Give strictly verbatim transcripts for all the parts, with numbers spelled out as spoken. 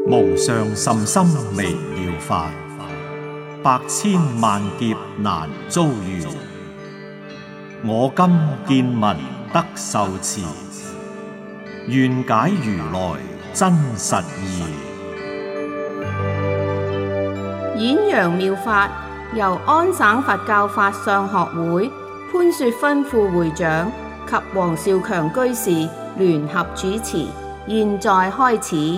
無上甚深微妙法，百千萬劫難遭遇。我今見聞得受持，願解如來真實義。 演揚妙法由安省佛教法相學會潘雪芬副會長及黃少強居士聯合主持，現在開始。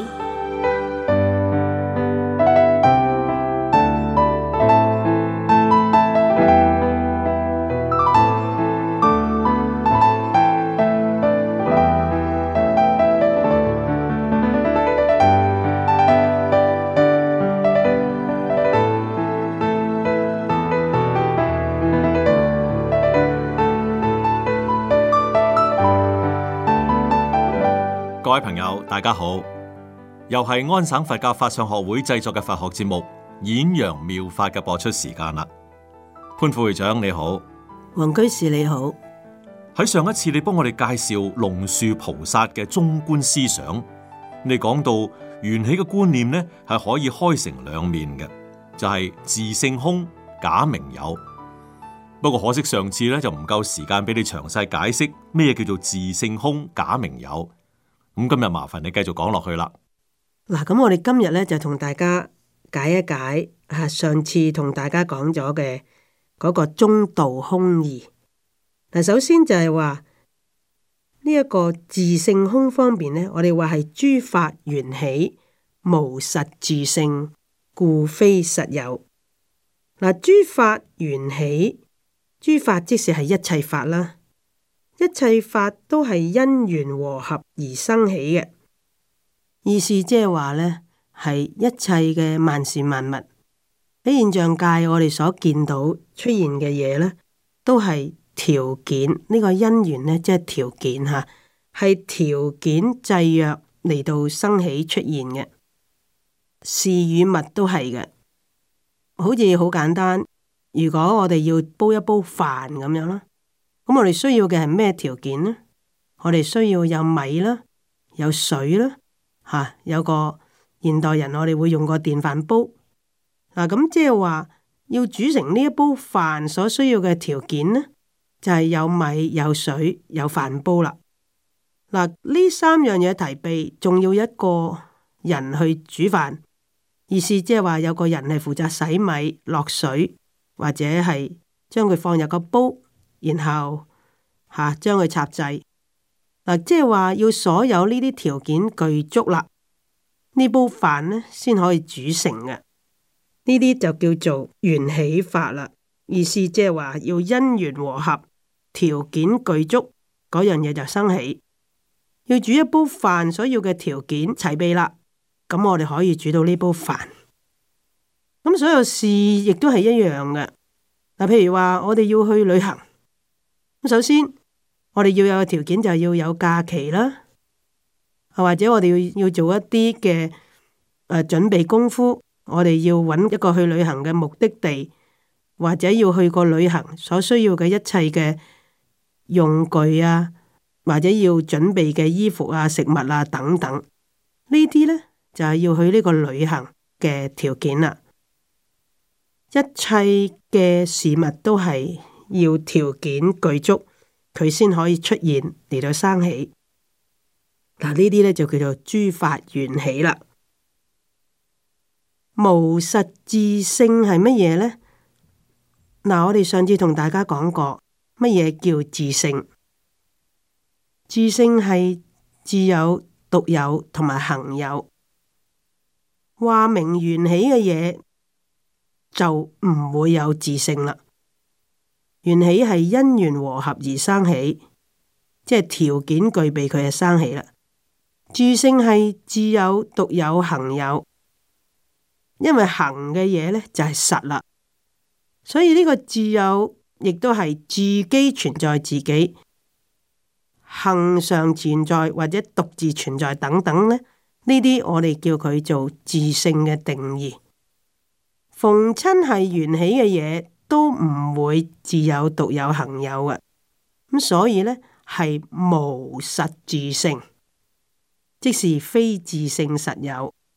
各位朋友，大家好，又係安省佛教法相學會製作嘅佛學節目《演揚妙法》嘅播出時間啦。潘副會長你好， 黃居士你好。 喺上一次你幫我哋介紹龍樹菩薩嘅中觀思想，你講到緣起嘅觀念呢係可以開成兩面嘅，就係、是、自性空假名有。不過可惜上次咧就唔夠時間俾你詳細解釋咩叫做自性空假名有。咁今日麻煩你繼續講落去啦。 嗱，咁我哋今日咧就同大家解一解啊，上次同大家講咗嘅嗰個中道空義。嗱，首先就係話呢一個自性空方面呢，我哋話係諸法緣起，無實自性，故非實有。嗱，諸法緣起，諸法即是係一切法啦。一切法都係因緣和合而生起嘅，意思即係話呢係一切嘅萬事萬物喺現象界，我哋所見到出現嘅嘢呢，都係條件。呢、這個因緣呢，即係條件吓，係條件制約嚟到生起出現嘅。事與物都係嘅，好似好簡單。如果我哋要煲一煲飯咁樣啦。咁我哋需要嘅係咩條件呢？我哋需要有米啦，有水啦，吓、啊、有個現代人我哋會用個電飯煲。嗱，咁即係話要煮成呢一煲飯所需要嘅條件呢，就係、是、有米、有水、有飯煲啦。嗱、啊，呢三樣嘢提備，仲要一個人去煮飯，意思即係話有個人係負責洗米、落水，或者係將佢放入個煲。然後吓將佢插製，嗱，即係話要所有呢啲條件具足啦，呢煲飯呢先可以煮成嘅。呢啲就叫做緣起法啦。意思即係話要因緣和合，條件具足，嗰樣嘢就生起。要煮一煲飯所要嘅條件齊備啦，咁我哋可以煮到呢煲飯。咁所有事亦都係一樣嘅。嗱，譬如話我哋要去旅行。首先，我哋要有個條件就係要有假期啦，或者我哋要要做一啲嘅誒準備功夫，我哋要揾一個去旅行嘅目的地，或者要去個旅行所需要嘅一切嘅用具啊，或者要準備嘅衣服啊、食物啊等等，呢啲呢，就係要去呢個旅行嘅條件啦。一切嘅事物都係要條件具足，佢先可以出現嚟到生起。嗱，呢啲咧就叫做諸法緣起啦。無實自性係乜嘢呢？嗱，我哋上次同大家講過，乜嘢叫自性？自性係自有、獨有同埋恆有。話明緣起嘅嘢就唔會有自性啦。緣起係因緣和合而生起，即係條件具備佢就生起啦。自性係自有、獨有、恆有，因為恆嘅嘢呢就係實啦，所以呢個自有亦都係自己存在自己，恆常存在或者獨自存在等等呢，呢啲我哋叫佢做自性嘅定義。逢親係緣起嘅嘢，都唔會自有、獨有、恆有嘅，咁所以呢，係無實自性，即是非自性實有。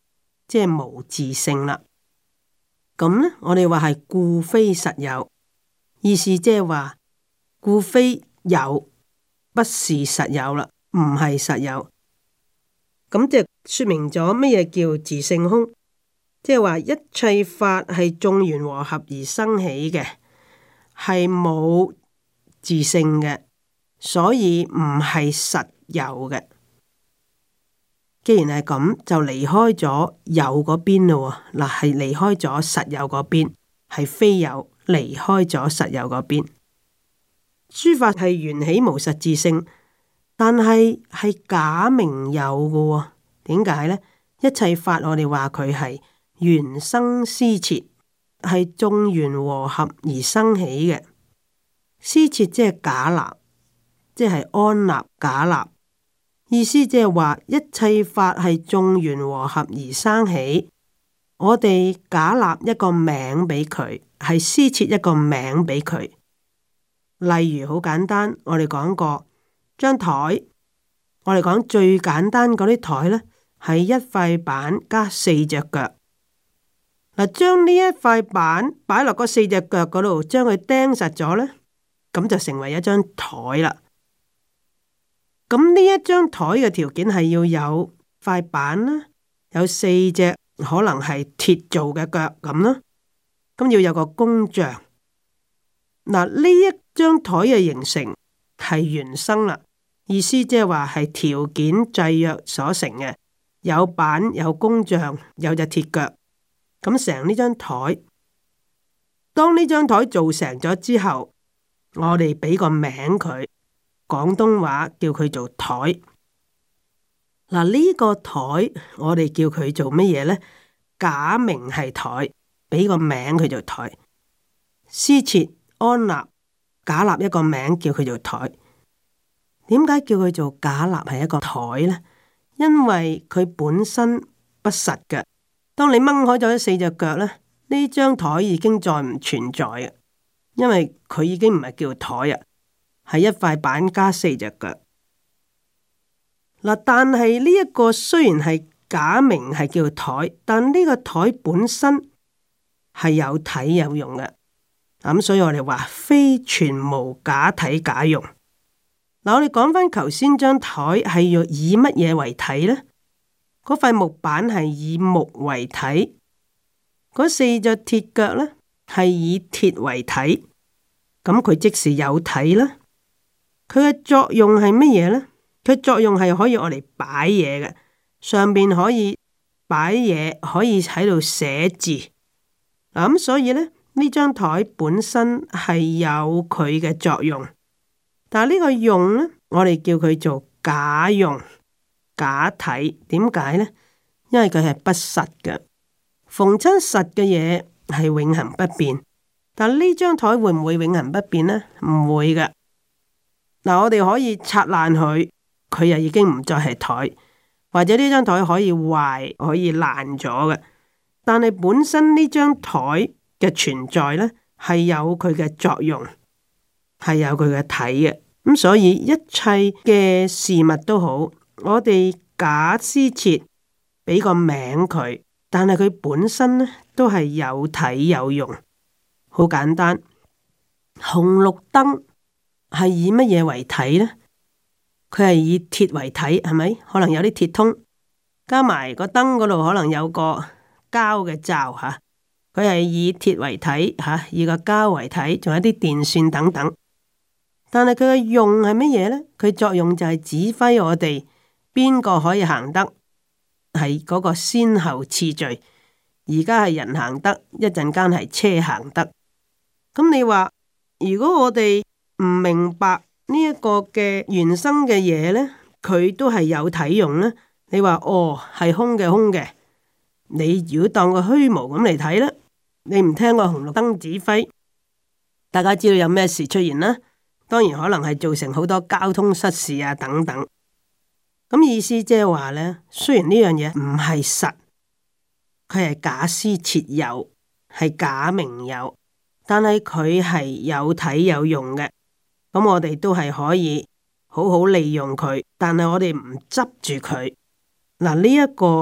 即係無自性啦。咁呢，我哋話係故非實有，意思即係話故非有，不是實有啦，唔係實有。咁就說明咗乜嘢叫自性空，即係話一切法係眾緣和合而生起嘅，係冇自性嘅，所以唔係實有嘅。既然係咁，就離開咗有嗰邊咯。嗱，係離開咗實有嗰邊，係非有離開咗實有嗰邊。諸法係緣起無實自性，但係係假名有嘅。點解呢？一切法我哋話佢係緣生施設，係眾緣和合而生起嘅。施設即係假立，即係安立假立。意思即係話一切法係眾緣和合而生起，我哋假立一個名俾佢，係施設一個名俾佢。例如好簡單，我哋講過張台，我哋講最簡單嗰啲台呢，係一塊板加四隻腳。嗱，將呢一塊板擺落嗰四隻腳嗰度，將佢釘實咗呢，咁就成為一張台啦。咁呢一張台嘅條件係要有塊板啦，有四隻可能係鐵做嘅腳咁啦，咁要有個工匠。嗱，呢一張台嘅形成係緣生啦，意思即係話係條件制約所成嘅，有板有工匠有隻鐵腳，咁成呢張台。當呢張台做成咗之後，我哋俾個名佢。廣東話叫佢做台。嗱，呢個台我哋叫佢做乜嘢呢？假名係台，俾個名佢做台。施設安立，假立一個名叫佢做台。點解叫佢做假立係一個台呢？因為佢本身不實嘅。當你掹開咗四隻腳呢，呢張台已經再唔存在嘅，因為佢已經唔係叫台啊。係一塊板加四隻腳。嗱，但係呢一個雖然係假名係叫台，但呢個台本身係有體有用嘅。咁所以我哋話非全無假體假用。嗱，我哋講翻頭先張台係要以乜嘢為體呢？嗰塊木板係以木為體，嗰四隻鐵腳呢係以鐵為體，咁佢即是有體啦。佢嘅作用係乜嘢呢？佢作用係可以我嚟擺嘢嘅，上邊可以擺嘢，可以喺度寫字。嗱，咁所以呢，呢張台本身係有佢嘅作用，但係呢個用呢，我哋叫佢做假用、假體。點解呢？因為佢係不實嘅。逢親實嘅嘢係永恆不變，但係呢張台會唔會永恆不變呢？唔會嘅。嗱，我哋可以拆爛佢，佢又已經唔再係台，或者呢張台可以壞，可以爛咗嘅。但係本身呢張台嘅存在呢，係有佢嘅作用，係有佢嘅體嘅。咁所以一切嘅事物都好，我哋假施設俾個名佢，但係佢本身呢都係有體有用。好簡單，紅綠燈。係以乜嘢為體呢？佢係以鐵為體，係咪？可能有啲鐵通，加埋個燈嗰度可能有個膠嘅罩吓。佢係以鐵為體吓，以個膠為體，仲有啲電線等等。但係佢嘅用係乜嘢呢？佢作用就係指揮我哋邊個可以行得，係嗰個先後次序。而家係人行得，一陣間係車行得。咁你話如果我哋唔明白呢一個嘅原生嘅嘢呢，佢都係有體用呢。你話哦，係空嘅空嘅，你如果當個虛無咁嚟睇呢，你唔聽個紅綠燈指揮，大家知道有咩事出現啦？當然可能係造成好多交通失事啊等等。咁意思即係話呢，雖然呢樣嘢唔係實，佢係假施設有，係假名有，但係佢係有體有用嘅。咁我哋都係可以好好利用佢，但係我哋唔執住佢。嗱，呢一個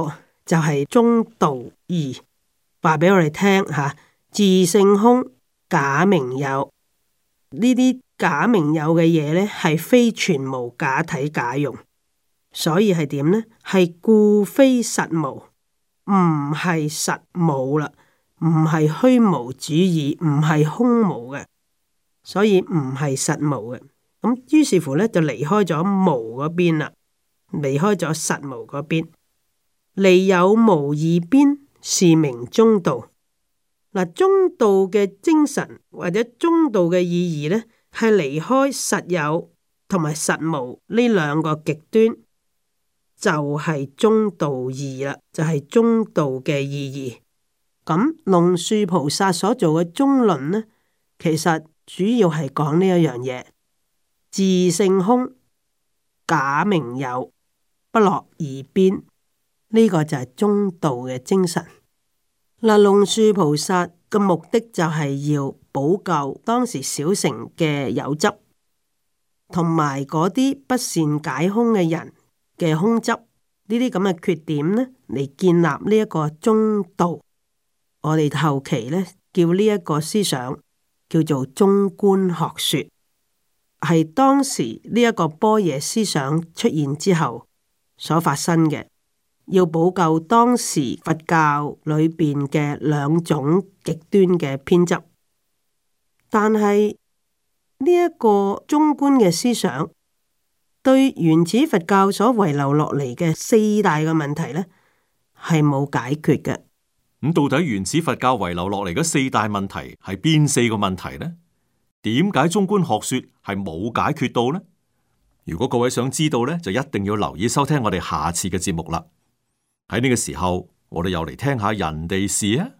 就係中道義，話俾我哋聽吓，自性空，假名有，呢啲假名有嘅嘢呢，係非全無假體假用，所以係點呢？係故非實無，唔係實無啦，唔係虛無主義，唔係空無嘅，所以唔係實無嘅。咁於是乎呢，就離開咗無嗰邊啦，離開咗實無嗰邊，離有無二邊，是名中道。嗱，中道嘅精神或者中道嘅意義呢，係離開實有同埋實無呢兩個極端，就係、是、中道義啦，就係、是、中道嘅意義。咁龍樹菩薩所做嘅中論呢，其實主要係講呢一樣嘢。自性空，假名有，不落二邊，呢、這個就係中道嘅精神。嗱，龍樹菩薩嘅目的就係要補救當時小乘嘅有執，同埋嗰啲不善解空嘅人嘅空執，呢啲咁嘅缺點呢，嚟建立呢一個中道。我哋後期呢，叫呢一個思想叫做中觀學說。係當時呢一個般若思想出現之後所發生嘅，要補救當時佛教裏邊嘅兩種極端嘅偏執。但係呢一個中觀嘅思想，對原始佛教所遺留落嚟嘅四大嘅問題呢，係冇解決嘅。 咁到底原始佛教遺留落嚟嘅四大問題係邊四個問題呢？點解中觀學說係冇解決到呢？如果各位想知道呢，就一定要留意收聽我哋下次嘅節目啦。喺呢個時候，我哋又嚟聽下人哋事啊！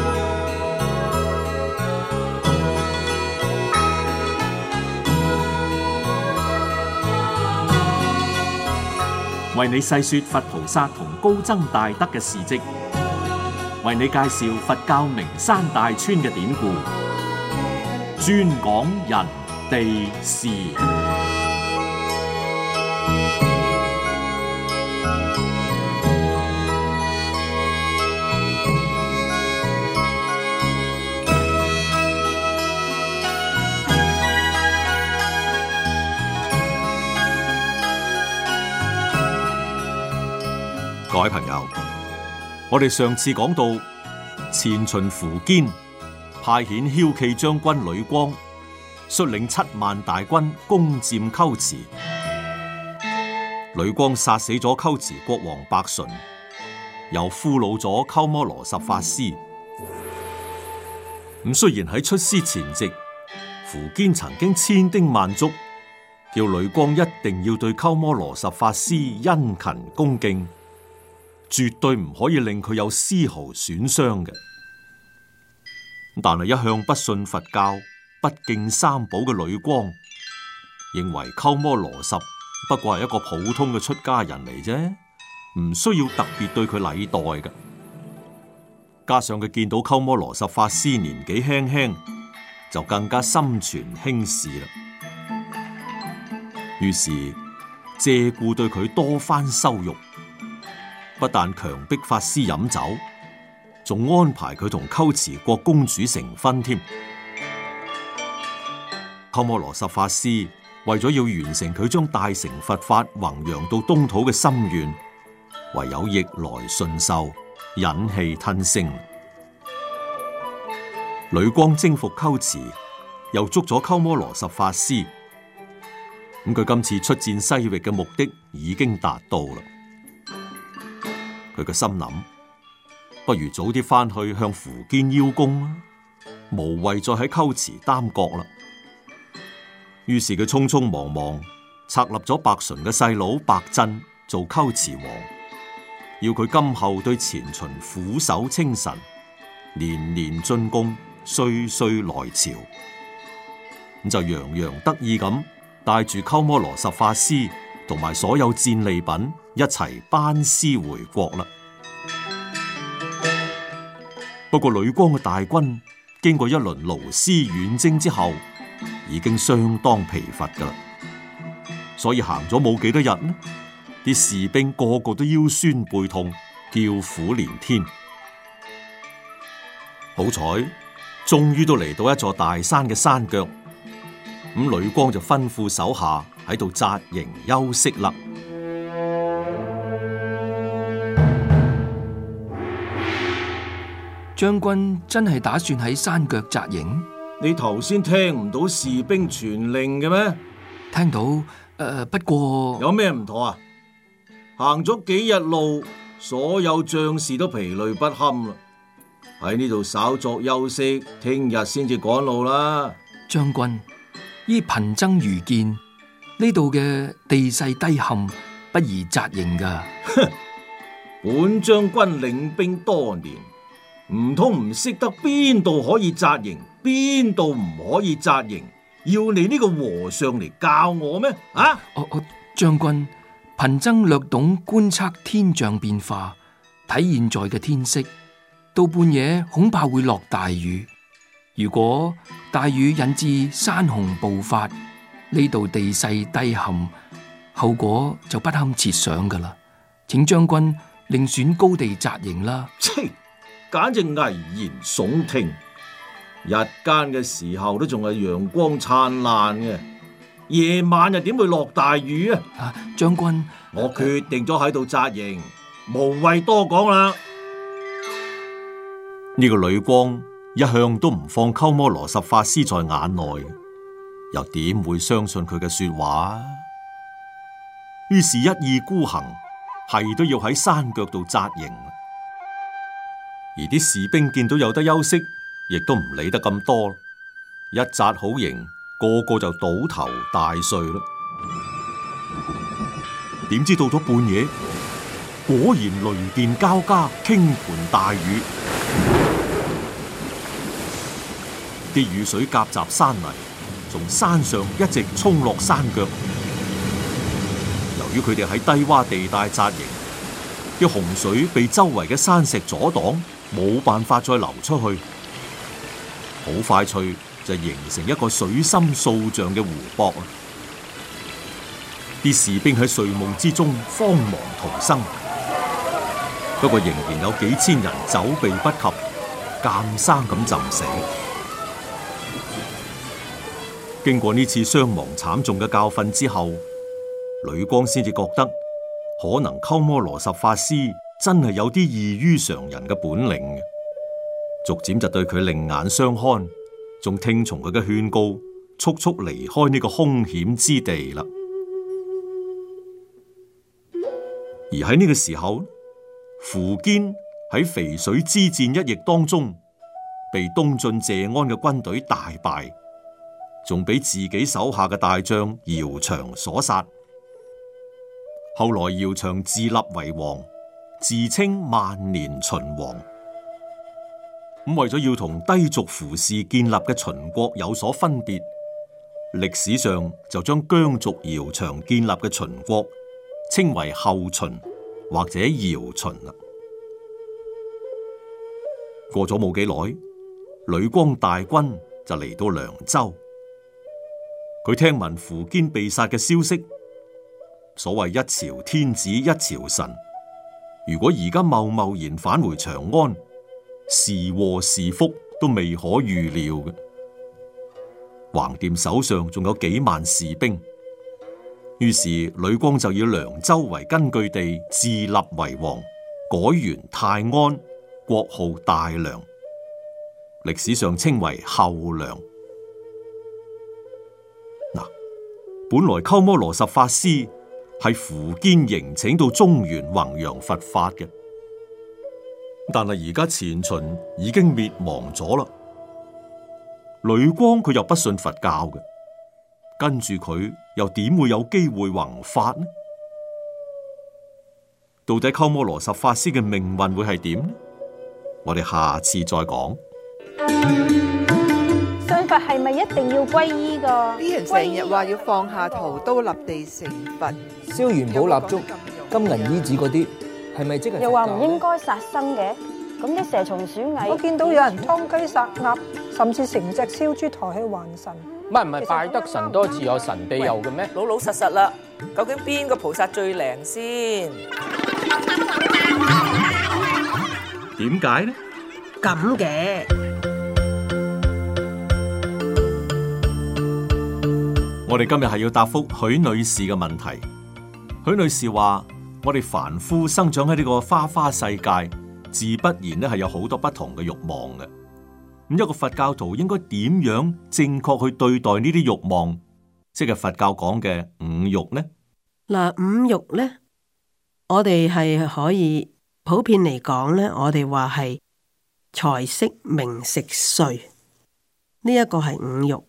為你細說佛菩薩同高僧大德嘅事跡，為你介紹佛教名山大川嘅典故。專講人地事。各位朋友，我哋上次講到前秦苻堅派遣驍騎將軍呂光率領七萬大軍攻佔龜茲，呂光殺死咗龜茲國王白純，又俘虜咗鳩摩羅什法師。咁雖然喺出師前夕，苻堅曾經千叮萬囑，叫呂光一定要對鳩摩羅什法師殷勤恭敬，絕對唔可以令佢有絲毫損傷嘅。但係一向不信佛教、不敬三寶嘅呂光，認為鳩摩羅什不過係一個普通嘅出家人嚟啫，唔需要特別對佢禮待嘅。加上佢見到鳩摩羅什法師年紀輕輕，就更加心存輕視啦。於是借故對佢多番羞辱，不但強迫法師飲酒，仲安排佢同龜茲國公主成婚添。鳩摩羅什法師為咗要完成佢將大乘佛法弘揚到東土嘅心願，唯有逆來順受，忍氣吞聲。呂光征服龜茲，又捉咗鳩摩羅什法師，咁佢今次出戰西域嘅目的已經達到啦。佢個心諗，不如早啲翻去向苻堅邀功啦，無謂再喺龜茲擔國啦。於是佢匆匆忙忙策立咗白純嘅細佬白鎮做龜茲王，要佢今後對前秦俯首稱臣，年年進貢，歲歲來朝。咁就洋洋得意咁帶住鳩摩羅什法師同埋所有戰利品一齊班師回國啦。不過呂光嘅大軍經過一輪勞師遠征之後，已經相當疲乏噶啦，所以行咗冇幾多日呢，啲士兵個個都腰痠背痛， 叫苦連天。好彩，終於都嚟到一座大山嘅山腳，咁呂光就吩咐手下喺度紮營休息啦。 將軍真係打算喺山腳紮營？ 你頭先聽唔到士兵傳令嘅咩？ 聽到，誒、呃，不過有咩唔妥啊？行咗幾日路，所有將士都疲累不堪啦，喺呢度稍作休息，聽日先至趕路啦。 將軍，依貧僧愚見，呢度嘅地勢低陷，不宜紮營噶。 哼，本將軍領兵多年，唔通唔識得邊度可以紮營，邊度唔可以紮營？要你呢個和尚嚟教我咩？啊！ 哦哦，將軍，貧僧略懂觀測天象變化，睇現在嘅天色，到半夜恐怕會落大雨。如果大雨引致山洪暴發，呢度地勢低陷，後果就不堪設想噶啦。請將軍另選高地紮營啦。 切，簡直危言聳聽。日間嘅時候都仲係陽光燦爛嘅，夜晚又點會落大雨啊？ 啊，將軍， 我決定咗喺度紮營，無謂多講啦。呢個呂光一向都唔放鳩摩羅什法師在眼內，又點會相信佢嘅說話？於是，一意孤行，係都要喺山腳度紮營。而啲士兵見到有得休息，亦都唔理得咁多，一紮好營，個個就倒頭大睡啦。點知到咗半夜，果然雷電交加，傾盆大雨，啲雨水夾雜山泥，從山上一直衝落山腳。由於佢哋喺低洼地帶紮營，啲洪水被周圍嘅山石阻擋，冇辦法再流出去。好快脆就形成一個水深數丈嘅湖泊啊！啲士兵喺睡夢之中慌忙逃生，不過仍然有幾千人走避不及，監生咁浸死。經過呢次傷亡慘重嘅教訓之後，呂光先至覺得可能鳩摩羅什法師真係有啲異於常人嘅本領嘅。逐漸就對佢另眼相看，仲聽從佢嘅勸告，速速離開呢個凶險之地啦。而喺呢個時候，苻堅喺淝水之戰一役當中，被東晉謝安嘅軍隊大敗，仲俾自己手下嘅大將姚萇所殺。後來姚萇自立為王，自稱萬年秦王。咁為咗要同低族苻氏建立嘅秦國有所分別，歷史上就將羌族姚萇建立嘅秦國稱為後秦或者姚秦啦。過咗冇幾耐，呂光大軍就嚟到涼州。佢聽聞苻堅被殺嘅消息，所謂一朝天子一朝臣，如果而家貿貿然返回長安，是禍是福都未可預料嘅。橫掂手上仲有幾萬士兵，於是呂光就以涼州為根據地，自立為王，改元泰安，國號大涼，歷史上稱為後涼。嗱，本來鳩摩羅什法師係苻堅迎請到中原弘揚佛法嘅。但係而家前秦已經滅亡咗啦，呂光佢又不信佛教嘅，跟住佢又點會有機會弘法呢？到底鳩摩羅什法師嘅命運會係點呢？我哋下次再講。 信佛係咪一定要皈依㗎？ 啲人成日話要放下屠刀立地成佛， 燒元寶蠟燭、金銀衣紙嗰啲。係咪即係？ 又話唔應該殺生嘅，咁啲蛇蟲鼠蟻， 我見到有人劏雞殺鴨，甚至成隻燒豬抬去還神。 唔係唔係，拜得神多自有神庇佑嘅咩？ 老老實實啦，究竟邊個菩薩最靈先？ 點解呢？ 咁嘅， 我哋今日係要答覆許女士嘅問題。許女士話：我哋凡夫生長喺呢個花花世界，自不然咧係有好多不同嘅慾望嘅。咁一個佛教徒應該點樣正確去對待呢啲慾望，即係佛教講嘅五慾呢？ 嗱，五慾呢，我哋係可以普遍嚟講呢，我哋話係財色名食睡，呢一個係五慾。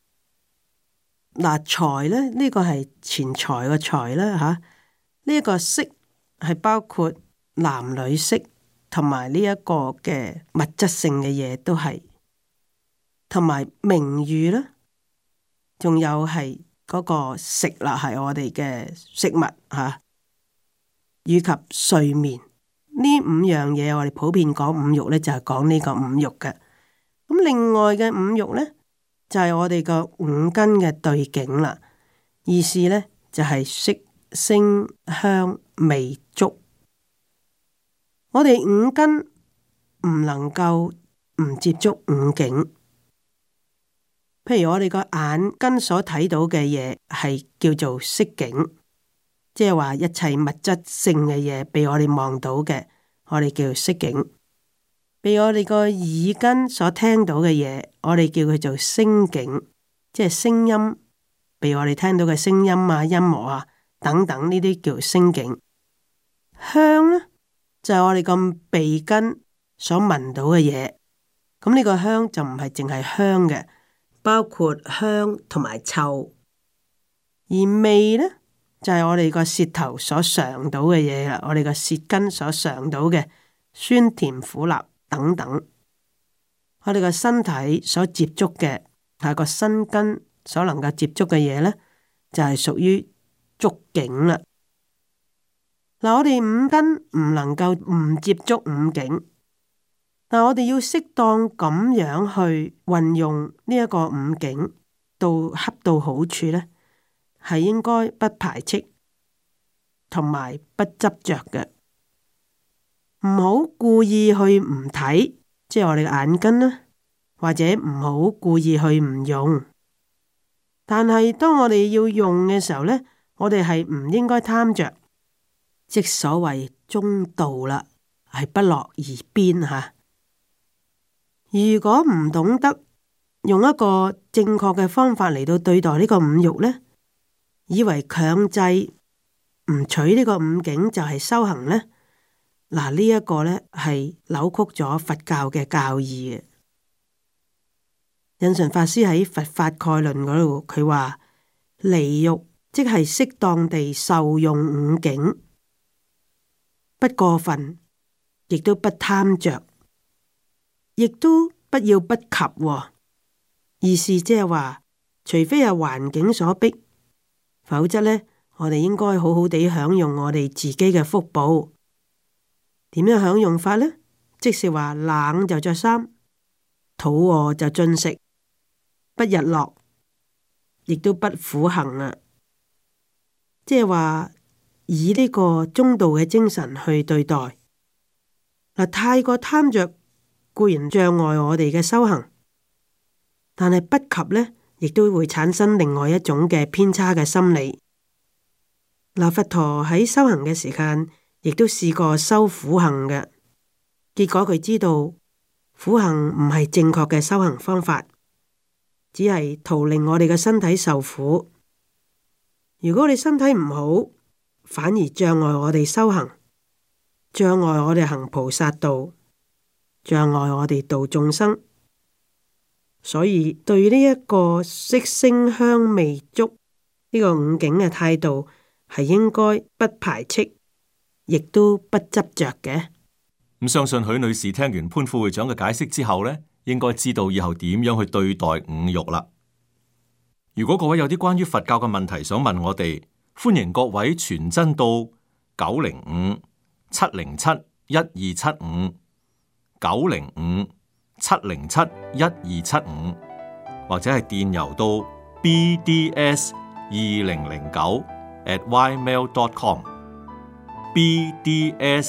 嗱，財呢，呢個係錢財嘅財啦吓，呢一個色係包括男女色同埋呢一個嘅物質性嘅嘢都係，同埋名譽啦，仲有係嗰個食啦，係我哋嘅食物吓，以及睡眠呢五樣嘢，我哋普遍講五慾呢，就係講呢個五慾嘅。咁另外嘅五慾呢，就係我哋個五根嘅對境啦，意思呢，就係色聲香味觸。我哋五根唔能夠唔接觸五境。譬如我哋個眼根所睇到嘅嘢係叫做色境，即係話一切物質性嘅嘢被我哋望到嘅，我哋叫色境。被我哋個耳根所聽到嘅嘢，我哋叫佢做聲境，即係聲音，被我哋聽到嘅聲音啊、音樂啊等等呢啲叫聲境。香呢，就係我哋個鼻根所聞到嘅嘢，咁呢個香就唔係淨係香嘅，包括香同埋臭。而味呢，就係我哋個舌頭所嘗到嘅嘢啦，我哋個舌根所嘗到嘅酸甜苦辣等等。我哋個身體所接觸嘅係個身根所能夠接觸嘅嘢呢，就係屬於觸境啦。嗱，我哋五根唔能夠唔接觸五境，但我哋要適當咁樣去運用呢一個五境，到恰到好處呢，係應該不排斥同埋不執着嘅，唔好故意去唔睇，即係我哋嘅眼根啦，或者唔好故意去唔用。但係當我哋要用嘅時候呢，我哋係唔應該貪着。即所謂中道啦，係不落而邊吓。如果唔懂得用一個正確嘅方法嚟到對待呢個五慾呢，以為強制唔取呢個五境就係修行呢，嗱，呢一個呢係扭曲咗佛教嘅教義嘅。印順法師喺《佛法概論》嗰度，佢話離欲即係適當地受用五境。不過分，亦都不貪着，亦都不要不及，哦。意思即係話，除非係環境所逼，否則呢，我哋應該好好地享用我哋自己嘅福報。點樣享用法呢？即是話冷就着衫，肚餓就進食，不日落，亦都不苦行啊！即係話。以呢個中道嘅精神去對待，嗱，太過貪着固然障礙我哋嘅修行，但係不及呢，亦都會產生另外一種嘅偏差嘅心理。嗱，佛陀喺修行嘅時間，亦都試過修苦行嘅，結果佢知道苦行唔係正確嘅修行方法，只係徒令我哋嘅身體受苦。如果你身體唔好，反而障礙我哋修行，障礙我哋行菩薩道，障礙我哋度眾生。所以對呢一個色聲香味觸呢個五境嘅態度，係應該不排斥，亦都不執着嘅。 咁相信許女士聽完潘副會長嘅解釋之後呢，應該知道以後點樣去對待五慾啦。如果各位有啲關於佛教嘅問題想問我哋，歡迎各位傳真到九零五七零七一二七五九零五七零七一二七五，或者係電郵到 b d s 二零零九 at ymail dot com b d s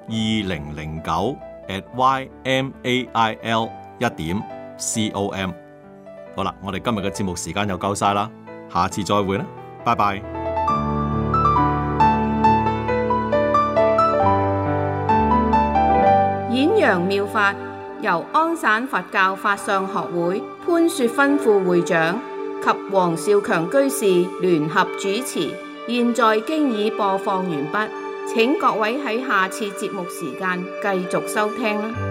零零九 at y m a i l 一點 c o m。好啦，我哋今日嘅節目時間又夠晒啦，下次再會啦，拜拜。 演揚妙法由安省佛教法相學會潘雪芬副會長及黃少強居士聯合主持，現在經已播放完畢，請各位喺下次節目時間繼續收聽啦。